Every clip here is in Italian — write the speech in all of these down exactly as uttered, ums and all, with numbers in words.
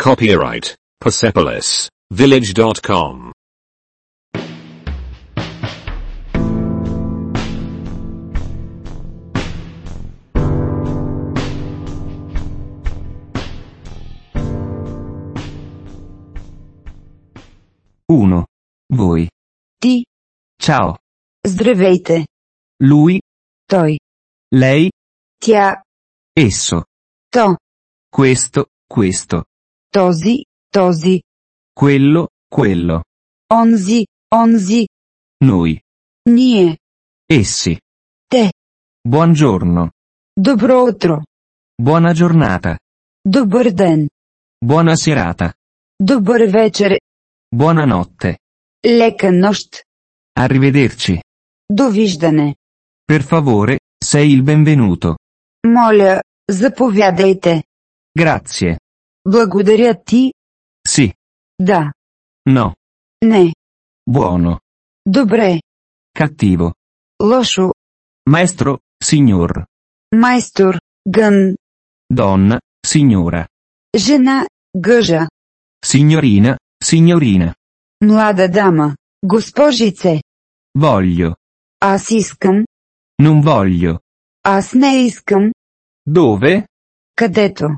Copyright Persepolis Village dot com. uno. Voi. Ти. Ciao. Здравейте. Lui. Той. Lei. Тя. Esso. То. Questo, questo. Този. Този. Quello, quello. Онзи. Онзи. Noi. Ние. Essi. Те. Buongiorno. Добро утро. Buona giornata. Добър ден. Buona serata. Добър вечер. Buonanotte. Лека нощ. Arrivederci. Довиждане. Per favore, sei il benvenuto. Моля, заповядайте. Grazie. Благодаря ти. Sì. Да. No. Не. Buono. Добре. Cattivo. Лошо. Maestro, signor. Майстор. Гън. Donna, signora. Жена. Гъжа. Signorina, signorina. Млада дама. Госпожице. Voglio. Аз искам. Non voglio. Аз не искам. Dove? Където.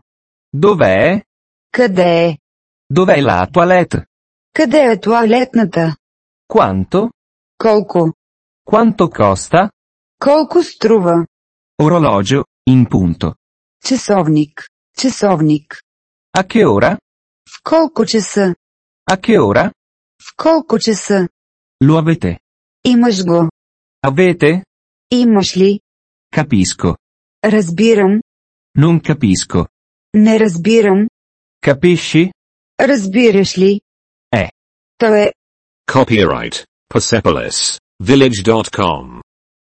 Dov'è? Къде е? Dov'è la toilette? Къде е тоалетната? Quanto? Колко? Quanto costa? Колко струва? Orologio, in punto. Часовник. Часовник. A che ora? В колко часа? A che ora? В колко часа? Lo avete? Имаш го. Avete? Имаш ли? Capisco. Разбирам. Non capisco. Не разбирам. Capisci? Разбираш ли? Е. То е. Copyright Persepolis Village dot com.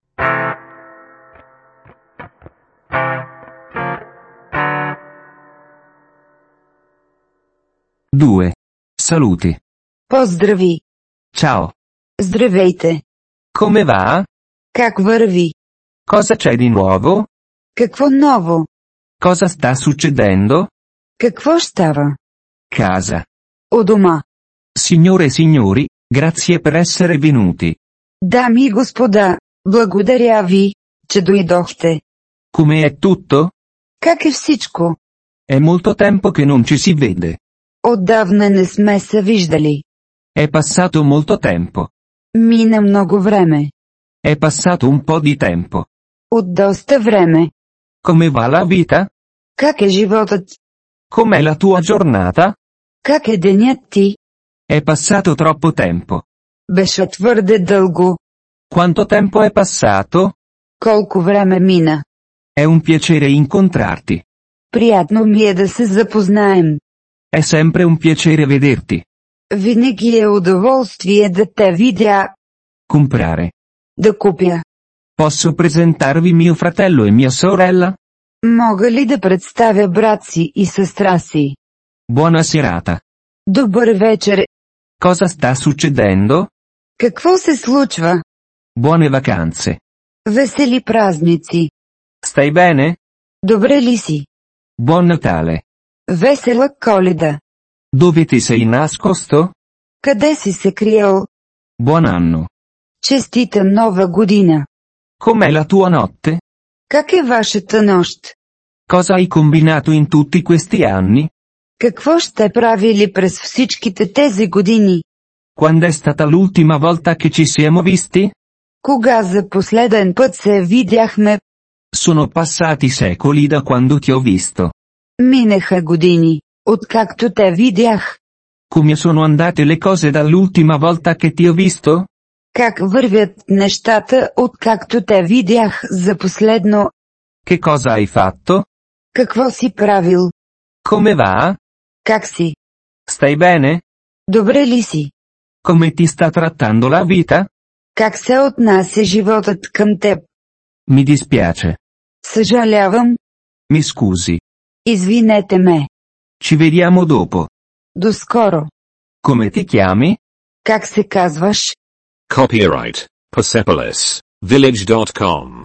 due. Saluti. Поздрави. Ciao. Здравейте. Come va? Как върви? Cosa c'è di nuovo? Какво ново? Cosa sta succedendo? Какво става? Casa. У дома. Signore e signori, grazie per essere venuti. Дами и господа, благодаря ви, че дойдохте. Come è tutto? Как е всичко? È molto tempo che non ci si vede. Отдавна не сме се виждали. È passato molto tempo. Мина много време. È passato un po' di tempo. От доста време. Come va la vita? Как е животът? Com'è la tua giornata? Как е денят ти? È passato troppo tempo. Беше твърде дълго. Quanto tempo è passato? Колко време мина? È un piacere incontrarti. Приятно ми е да се запознаем. È sempre un piacere vederti. Винаги е удоволствие да те видя. Comprare. Да купя. Posso presentarvi mio fratello e mia sorella? Мога ли да представя брат си и сестра си? Buona serata. Добър вечер. Cosa sta succedendo? Какво се случва? Buone vacanze. Весели празници. Stai bene? Добре ли си? Buon Natale. Весела Коледа. Dove ti sei nascosto? Къде си се криел? Buon anno. Честита нова година. Com'è la tua notte? Как е вашата нощ? Cosa hai combinato in tutti questi anni? Какво ще правили през всичките тези години? Quando è stata l'ultima volta che ci siamo visti? Кога за последен път се видяхме? Sono passati secoli da quando ti ho visto. Минаха години, откакто те видях. Come sono andate le cose dall'ultima volta che ti ho visto? Как вървят нещата, откакто те видях за последно? Che cosa hai fatto? Какво си правил? Come va? Как си? Stai bene? Добре ли си? Come ti sta trattando la vita? Как се отнася животът към теб? Mi dispiace. Съжалявам. Mi scusi. Извинете ме. Ci vediamo dopo. До скоро. Come ti chiami? Как се казваш? Copyright Persepolis Village dot com.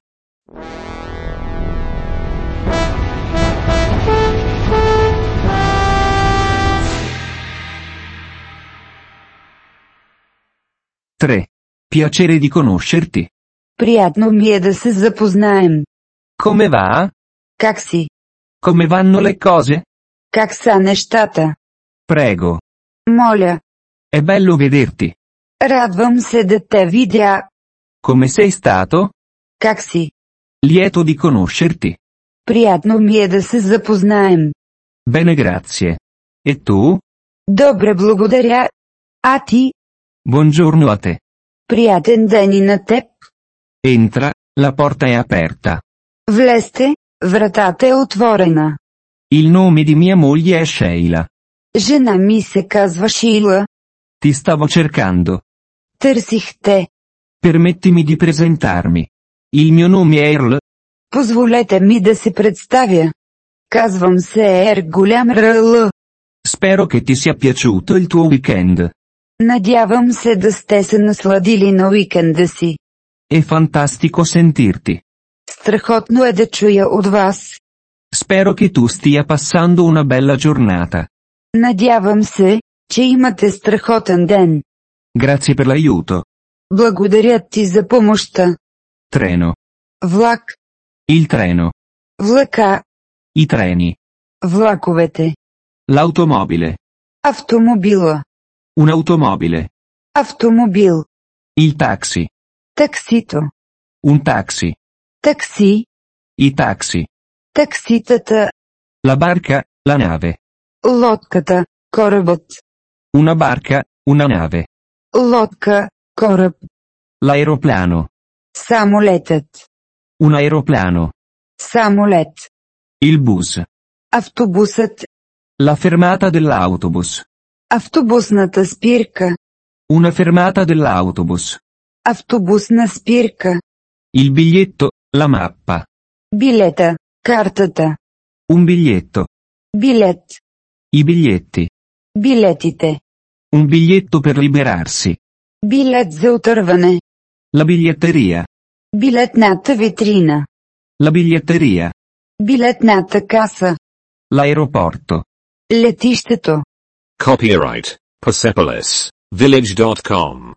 tre. Piacere di conoscerti. Приятно ми е да се запознаем. Come va? Как си? Come vanno le cose? Как са нещата? Prego. Моля. È bello vederti. Радвам се да те видя. Come sei stato? Как си? Lieto di conoscerti. Приятно ми е да се запознаем. Bene, grazie. E tu? Добре, благодаря. А ти? Buongiorno a te. Приятен ден и на теб. Entra, la porta è aperta. Влезте, вратата е отворена. Il nome di mia moglie è Sheila. Жена ми се казва Шийла. Ti stavo cercando. Търсих те. Permettimi di presentarmi. Il mio nome è Earl. Позволете ми да се представя. Казвам се Ер голям Ръл. Spero che ti sia piaciuto il tuo weekend. Надявам се да сте се насладили на уикенда си. È fantastico sentirti. Страхотно е да чуя от вас. Spero che tu stia passando una bella giornata. Надявам се, че имате страхотен ден. Grazie per l'aiuto. Благодаря ти за помощта. Treno. Влак. Il treno. Влака. I treni. Влаковете. L'automobile. Автомобила. Un'automobile. Автомобил. Il taxi. Таксито. Un taxi. Такси. I taxi. Такситата. La barca, la nave. Лодката. Корабът. Una barca, una nave. Лодка. Кораб. L'aeroplano. Самолетът. Un aeroplano. Самолет. Il bus. Автобусът. La fermata dell'autobus. Автобусната спирка. Una fermata dell'autobus. Автобусна спирка. Il biglietto, la mappa. Билета. Картата. Un biglietto. Билет. I biglietti. Билетите. Un biglietto per liberarsi. Билет за отърване. La biglietteria. Билетната витрина. La biglietteria. Билетната каса. L'aeroporto. Летището. Copyright Persepolis Village dot com.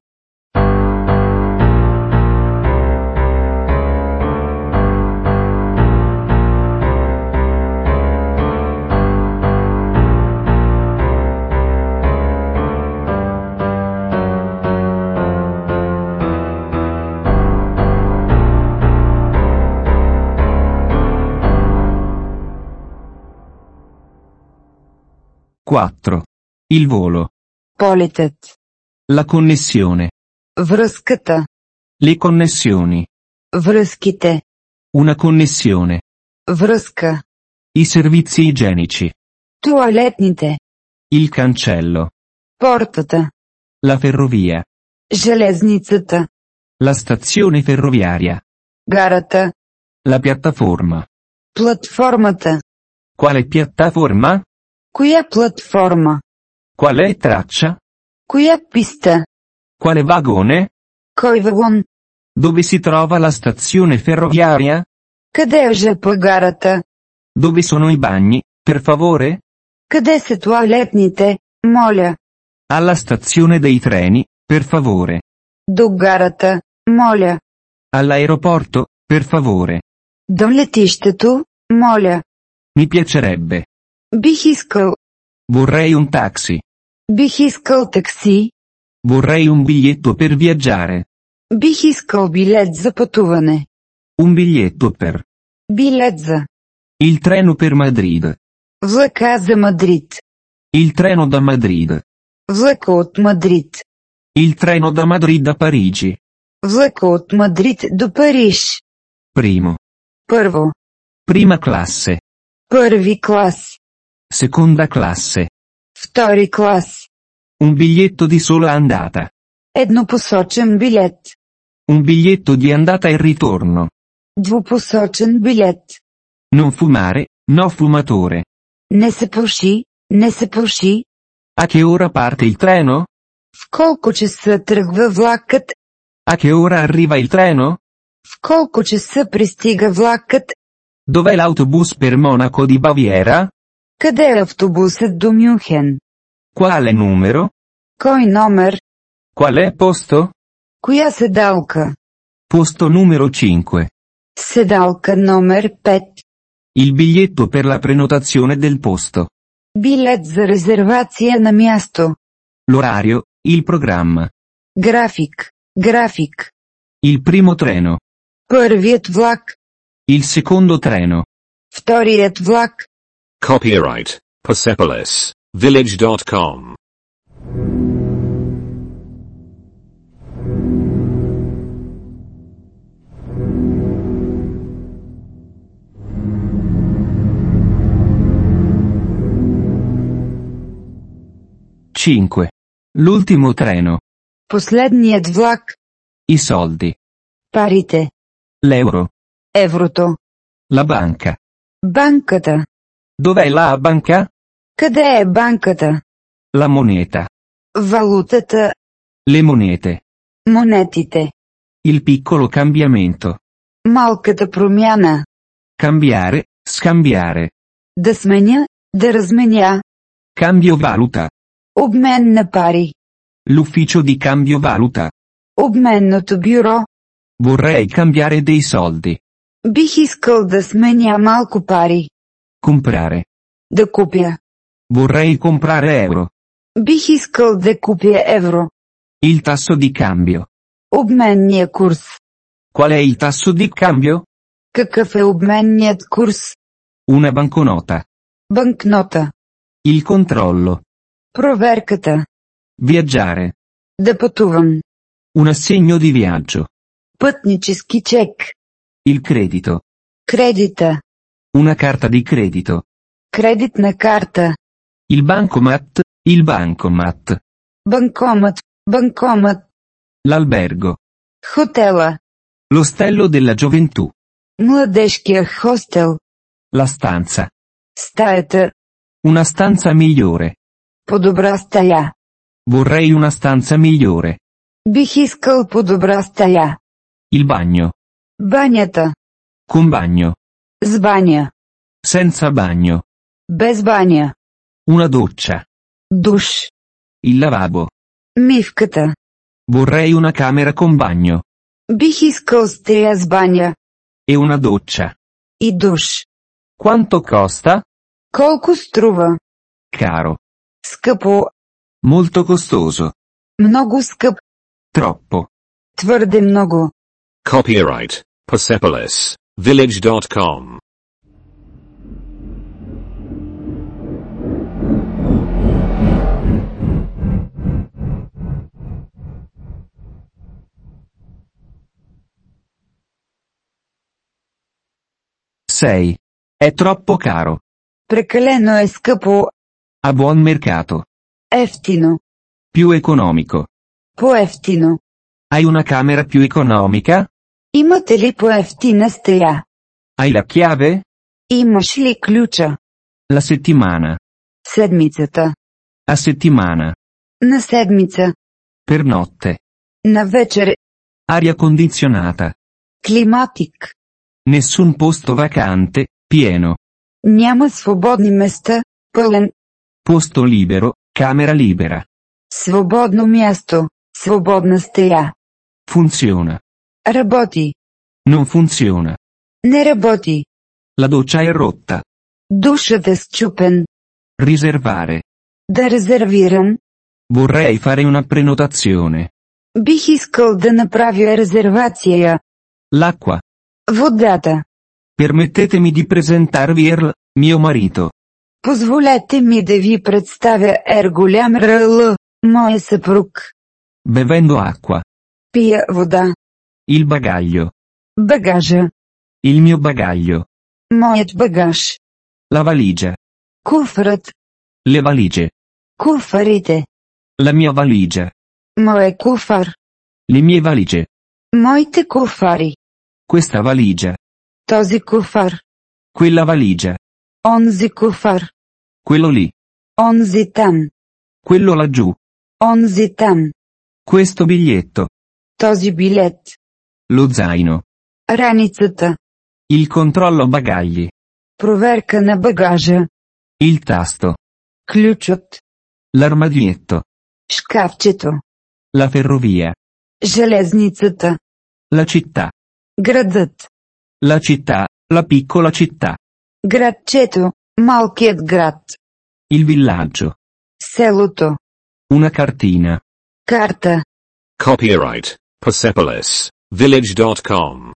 quattro. Il volo. Полетът. La connessione. Връзката. Le connessioni. Връзките. Una connessione. Връзка. I servizi igienici. Туалетните. Il cancello. Портата. La ferrovia. Железницата. La stazione ferroviaria. Гарата. La piattaforma. Платформата. Quale piattaforma? Коя платформа? Quale traccia? Коя писта? Quale vagone? Кой вагон? Dove si trova la stazione ferroviaria? Къде е жп гарата? Dove sono i bagni, per favore? Къде са туалетните, моля? Alla stazione dei treni, per favore. До гарата, моля. All'aeroporto, per favore. До летището, моля. Mi piacerebbe. Бих искал. Vorrei un taxi. Бих искал такси. Vorrei un biglietto per viaggiare. Бих искал билет за пътуване. Un biglietto per. Билет за. Il treno per Madrid. Влака за Мадрид. Il treno da Madrid. Влака от Мадрид. Il treno da Madrid a Parigi. Влака от Мадрид до Париж. Primo. Първо. Prima classe. Първи клас. Seconda classe. Втори клас. Un biglietto di sola andata. Еднопосочен билет. Un biglietto di andata e ritorno. Двупосочен билет. Non fumare, no fumatore. Не се пуши, не се пуши. A che ora parte il treno? В колко часа тръгва влакът? A che ora arriva il treno? В колко часа пристига влакът? Dov'è l'autobus per Monaco di Baviera? Къде е автобусът до Мюнхен? Quale numero? Кой номер? Qual è posto? Коя седалка? Posto numero cinque. Седалка номер пет. Il biglietto per la prenotazione del posto. Билет за резервация на място. L'orario, il programma. График. График. Il primo treno. Първият влак. Il secondo treno. Вторият влак. Copyright Persepolis Village dot com. cinque. L'ultimo treno. Последният влак. I soldi. Парите. L'euro. Еврото. La banca. Банката. Dov'è la banca? Къде е банката? La moneta. Валутата. Le monete. Монетите. Il piccolo cambiamento. Малката промяна. Cambiare, scambiare. Да сменя, да разменя. Cambio valuta. Обмен на пари. L'ufficio di cambio valuta. Обменното бюро. Vorrei cambiare dei soldi. Бих искал да сменя малко пари. Comprare. Да купя. Vorrei comprare euro. Бих искал да купя евро. Il tasso di cambio. Обменния курс. Qual è il tasso di cambio? Какъв е обменният курс? Una banconota. Банкнота. Il controllo. Проверката. Viaggiare. Да пътувам. Un assegno di viaggio. Пътнически чек. Il credito. Кредита. Una carta di credito. Кредитна карта. Il bancomat. Il bancomat. Банкомат. Банкомат. L'albergo. Хотела. L'ostello della gioventù. Младежкия хостел. La stanza. Стаята. Una stanza migliore. По-добра стая. Vorrei una stanza migliore. Бих искал по-добра стая. Il bagno. Банята. Con bagno. С баня. Senza bagno. Без баня. Una doccia. Душ. Il lavabo. Мивката. Vorrei una camera con bagno. Бих искал стая с баня. E una doccia. И душ. Quanto costa? Колко струва? Caro. Скъпо. Molto costoso. Много скъп. Troppo. Твърде много. Copyright Persepolis Village dot com. sei. È troppo caro. Прекалено е скъпо. A buon mercato. Ефтино. Più economico. По-ефтино. Hai una camera più economica? Имате ли по-ефтина стая? Hai la chiave? Имаш ли ключа? La settimana. Седмицата. A settimana. На седмица. Per notte. На вечер. Aria condizionata. Климатик. Nessun posto vacante, pieno. Няма свободни места. Пълен. Posto libero, camera libera. Свободно място. Свободна стая. Funziona. Работи. Non funziona. Не работи. La doccia è rotta. Душът е счупен. Riservare. Да резервирам. Vorrei fare una prenotazione. Бих искал да направя резервация. L'acqua. Водата. Permettetemi di presentarvi Earl, mio marito. Позволете ми да ви представя Ер голям Ръл, моя съпруг. Bevendo acqua. Пия вода. Il bagaglio. Багажа. Il mio bagaglio. Моят багаж. La valigia. Куфърът. Le valigie. Куфарите. La mia valigia. Моя куфар. Le mie valigie. Моите куфари. Questa valigia. Този куфар. Quella valigia. Онзи куфар. Quello lì. Онзи там. Quello laggiù. Онзи там. Questo biglietto. Този билет. Lo zaino. Раницата. Il controllo bagagli. Проверка на багажа. Il tasto. Ключът. L'armadietto. Шкафчето. La ferrovia. Железницата. La città. Градът. La città, la piccola città. Градчето. Малкият град. Il villaggio. Селото. Una cartina. Карта. Copyright Persepolis Village dot com.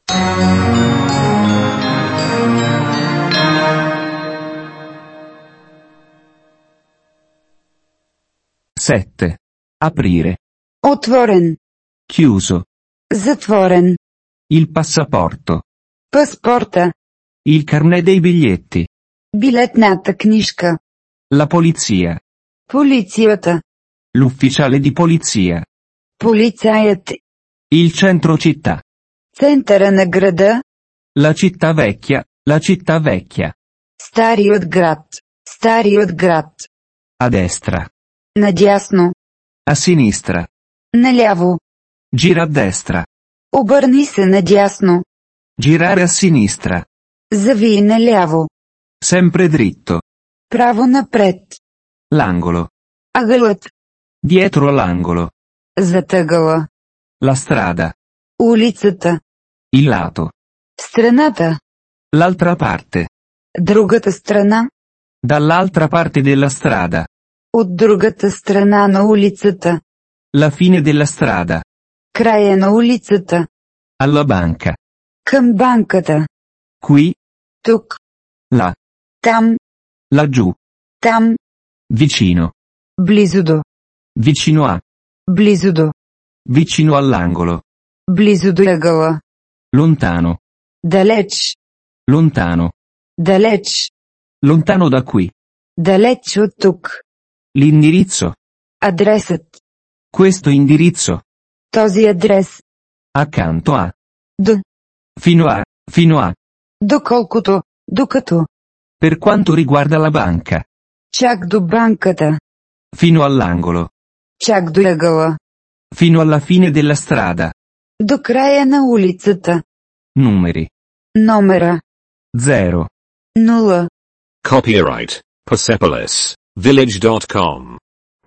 sette. Aprire. Отворен. Chiuso. Затворен. Il passaporto. Паспорта. Il carnet dei biglietti. Билетната книжка. La polizia. Полицията. L'ufficiale di polizia. Полицаят. Il centro città. Центъра на града. La città vecchia, la città vecchia. Старият град. Старият град. A destra. Надясно. A sinistra. Наляво. Gira a destra. Обърни се надясно. Girare a sinistra. Завий наляво. Sempre dritto. Право напред. L'angolo. Ъгълът. Dietro l'angolo. Зад ъгъла. La strada. Улицата. Il lato. Страната. L'altra parte. Другата страна. Dall'altra parte della strada. От другата страна на улицата. La fine della strada. Края на улицата. Alla banca. Към банката. Qui. Тук. Là. Там. Laggiù. Там. Vicino. Близо до. Vicino a. Близо до. Vicino all'angolo. Близо до ъгъла. Lontano. Далеч. Lontano. Далеч. Lontano da qui. Далеч от тук. L'indirizzo. Адресът. Questo indirizzo. Този адрес. Accanto a. До. Fino a. Fino a. Доколкото. Докато. Per quanto riguarda la banca. Чак до банката. Fino all'angolo. Чак до ъгъла. Fino alla fine della strada. До края на улицата. Numeri. Номера. zero. Нула. Copyright Persepolis Village dot com.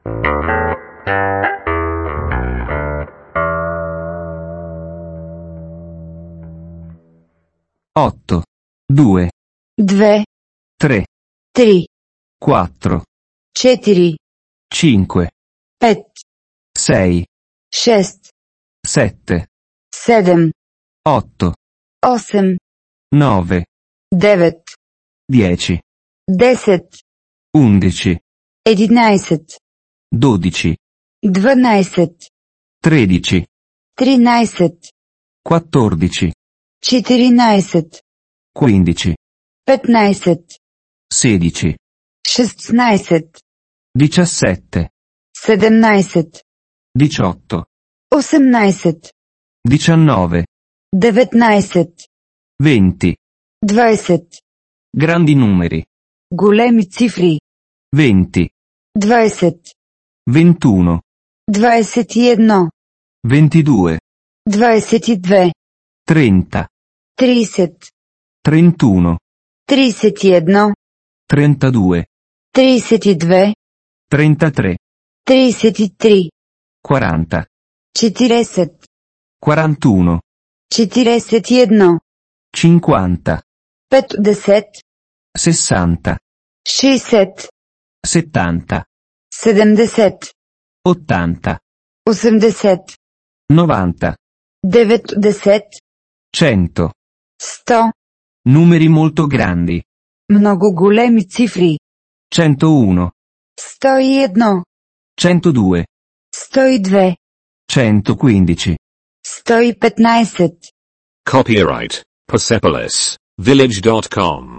otto. due. Две. tre. Три. quattro. Четири. cinque. Пет. sei. Шест. sette. Седем. otto. Осем. nove. Девет. dieci. Десет. undici. Единайсет. dodici. Дванайсет. tredici. Тринайсет. quattordici. Четиринайсет. quindici. Петнайсет. sedici. Шестнайсет. diciassette. Седемнайсет. diciotto. Осемнайсет. diciannove. Деветнайсет. venti. Двайсет. Grandi numeri. Големи цифри. venti. Двайсет. ventuno. Двайсет и едно. ventidue. Двайсет и две. trenta. Трийсет. trentuno. Трийсет и едно. trentadue. Трийсет и две. trentatré. Трийсет и три. quaranta. Четиресет. quarantuno. Четиресет и едно. cinquanta. Петдесет. sessanta. Шейсет. settanta. Седемдесет. ottanta. Осемдесет. novanta. Деветдесет. cento. Сто. Numeri molto grandi. Много големи цифри. centouno. Сто и едно. centodue. Сто и две. centoquindici. Сто и петнайсет. Copyright Persepolis Village dot com.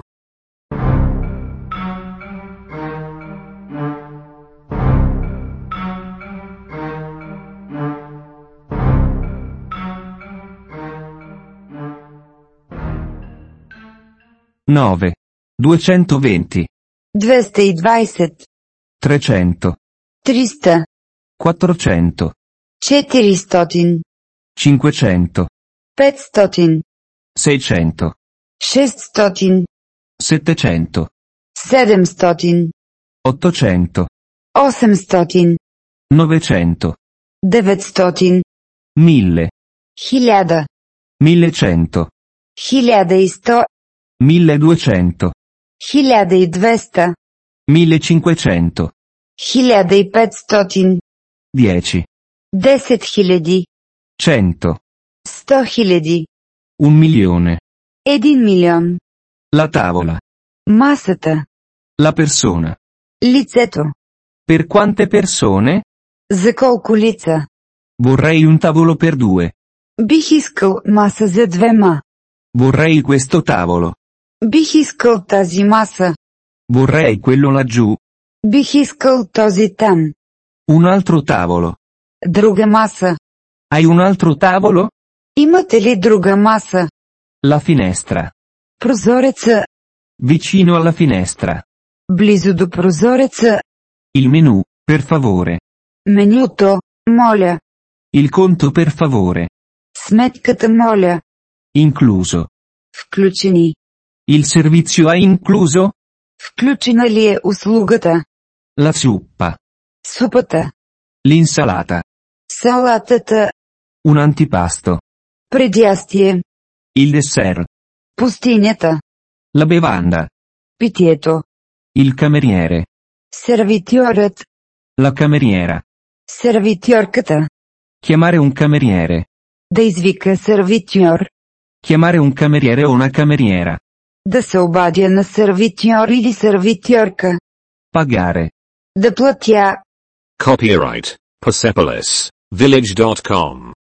nove. duecentoventi. Двеста и двайсет. trecento. Триста. quattrocento. Четиристотин. cinquecento. Петстотин. seicento. Шестстотин. settecento. Седемстотин. ottocento. Осемстотин. novecento. Деветстотин. Mille. Хиляда. Millecento. Хиляда и сто. Milleduecento. Хиляда и двеста. Millecinquecento. Хиляда и петстотин. Dieci. Десет хиляди. Cento. Сто хиляди. Un milione. Един милион. La tavola. Масата. La persona. Лицето. Per quante persone? За колко лица? Vorrei un tavolo per due. Бих искал маса за двема. Vorrei questo tavolo. Бих искал тази маса. Vorrei quello laggiù. Бих искал този там. Un altro tavolo. Друга маса. Hai un altro tavolo? Имате ли друга маса? La finestra. Прозореца. Vicino alla finestra. Близо до прозореца. Il menù, per favore. Менюто, моля. Il conto per favore. Сметката, моля. Incluso. Включени. Il servizio è incluso? Включена ли е услугата? La zuppa. Супата. L'insalata. Салатата. Un antipasto. Предястие. Il dessert. Пустинята. La bevanda. Питието. Il cameriere. Сервитьорът. La cameriera. Сервитьорката. Chiamare un cameriere. Да извика сервитьор. Chiamare un cameriere o una cameriera. Да се обадя на сервитьор или сервитьорка. Pagare. Да платя. Copyright Persepolis Village dot com.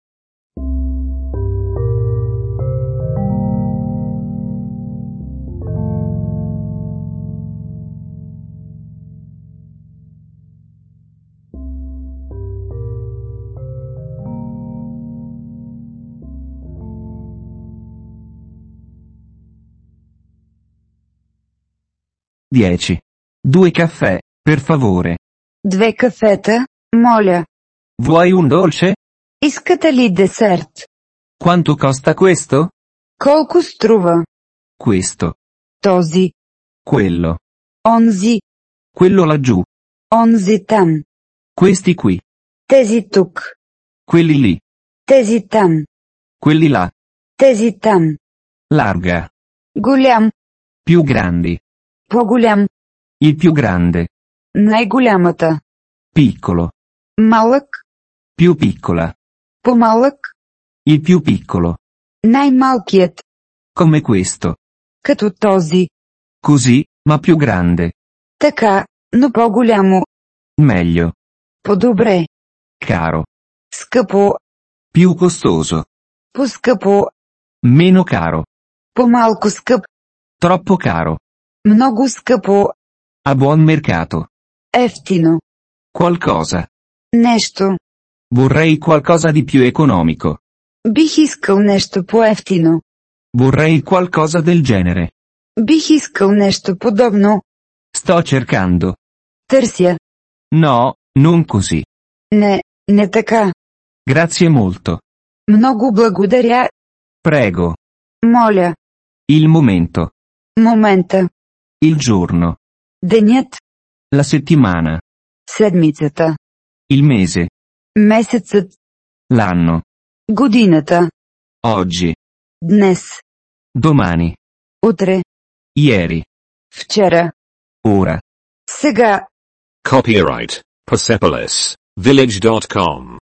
Dieci. Due caffè, per favore. Две кафета, моля. Vuoi un dolce? Искате ли десерт? Quanto costa questo? Колко струва? Questo. Този. Quello. Онзи. Quello laggiù. Онзи там. Questi qui. Тези тук. Quelli lì. Тези там. Quelli là. Тези там. Larga. Голям. Più grandi. По-голям. Il più grande. Най-голямата. Piccolo. Малък. Più piccola. По-малък. Il più piccolo. Най-малкият. Come questo. Като този. Così, ma più grande. Така, но по-голямо. Meglio. По-добре. Caro. Скъпо. Più costoso. По-скъпо. Meno caro. По-малко скъп. Troppo caro. Много скъпо. A buon mercato. Ефтино. Qualcosa. Нещо. Vorrei qualcosa di più economico. Бих искал нещо по-ефтино. Vorrei qualcosa del genere. Бих искал нещо подобно. Sto cercando. Търся. No, non così. Не, не така. Grazie molto. Много благодаря. Prego. Моля. Il momento. Момента. Il giorno. Денят. La settimana. Седмицата. Il mese. Месецът. L'anno. Годината. Oggi. Днес. Domani. Утре. Ieri. Вчера. Ora. Сега. Copyright Persepolis Village dot com.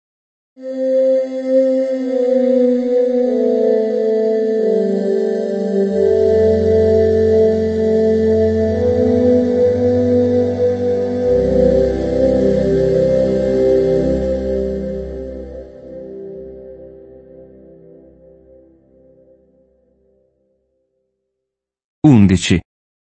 Undici.